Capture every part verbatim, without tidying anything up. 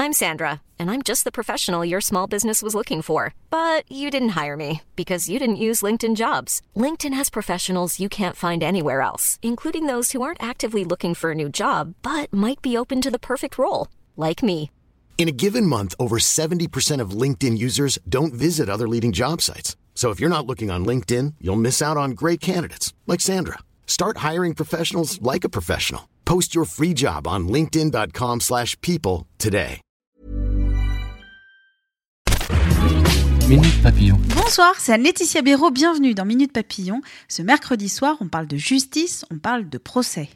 I'm Sandra, and I'm just the professional your small business was looking for. But you didn't hire me because you didn't use LinkedIn Jobs. LinkedIn has professionals you can't find anywhere else, including those who aren't actively looking for a new job, but might be open to the perfect role, like me. In a given month, over seventy percent of LinkedIn users don't visit other leading job sites. So if you're not looking on LinkedIn, you'll miss out on great candidates like Sandra. Start hiring professionals like a professional. Post your free job on linkedin.com slash people today. Minute Papillon. Bonsoir, c'est Anne-Laetitia Béraud, bienvenue dans Minute Papillon. Ce mercredi soir, on parle de justice, on parle de procès.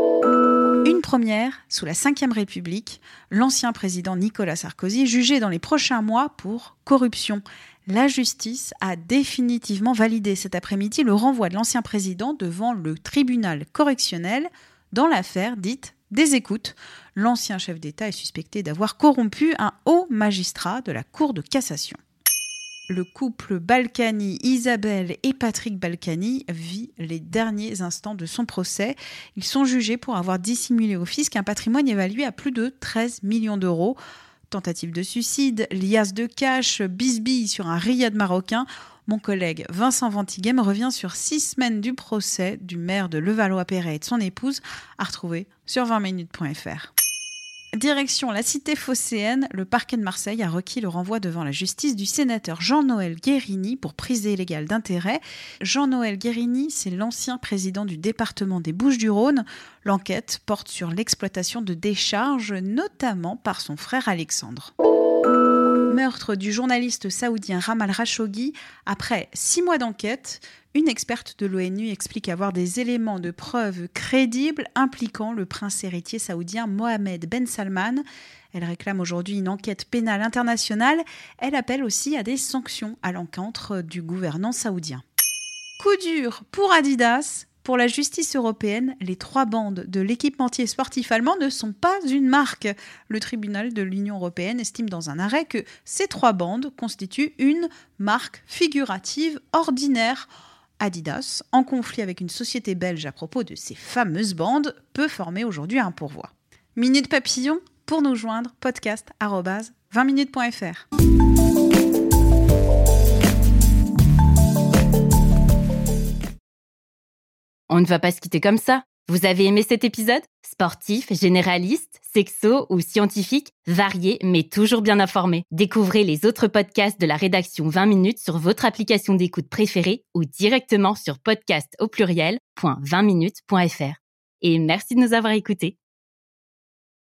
Une première, sous la cinquième République, l'ancien président Nicolas Sarkozy est jugé dans les prochains mois pour corruption. La justice a définitivement validé cet après-midi le renvoi de l'ancien président devant le tribunal correctionnel dans l'affaire dite des écoutes. L'ancien chef d'État est suspecté d'avoir corrompu un haut magistrat de la Cour de cassation. Le couple Balkany, Isabelle et Patrick Balkany vit les derniers instants de son procès. Ils sont jugés pour avoir dissimulé au fisc un patrimoine évalué à plus de treize millions d'euros. Tentative de suicide, liasse de cash, bisbille sur un riad marocain. Mon collègue Vincent Ventighem revient sur six semaines du procès du maire de Levallois-Perret et de son épouse, à retrouver sur vingt minutes point f r. Direction la cité phocéenne, le parquet de Marseille a requis le renvoi devant la justice du sénateur Jean-Noël Guérini pour prise illégale d'intérêt. Jean-Noël Guérini, c'est l'ancien président du département des Bouches-du-Rhône. L'enquête porte sur l'exploitation de décharges, notamment par son frère Alexandre. Meurtre du journaliste saoudien Ramal Khashoggi. Après six mois d'enquête, une experte de l'ONU explique avoir des éléments de preuve crédibles impliquant le prince héritier saoudien Mohammed Ben Salman. Elle réclame aujourd'hui une enquête pénale internationale. Elle appelle aussi à des sanctions à l'encontre du gouvernement saoudien. Coup dur pour Adidas. Pour la justice européenne, les trois bandes de l'équipementier sportif allemand ne sont pas une marque. Le tribunal de l'Union européenne estime dans un arrêt que ces trois bandes constituent une marque figurative ordinaire. Adidas, en conflit avec une société belge à propos de ces fameuses bandes, peut former aujourd'hui un pourvoi. Minute Papillon, pour nous joindre, podcast arobase vingt minutes point f r. On ne va pas se quitter comme ça. Vous avez aimé cet épisode ? Sportif, généraliste, sexo ou scientifique, varié mais toujours bien informé. Découvrez les autres podcasts de la rédaction vingt minutes sur votre application d'écoute préférée ou directement sur podcast au pluriel point vingt minutes point f r. Et merci de nous avoir écoutés.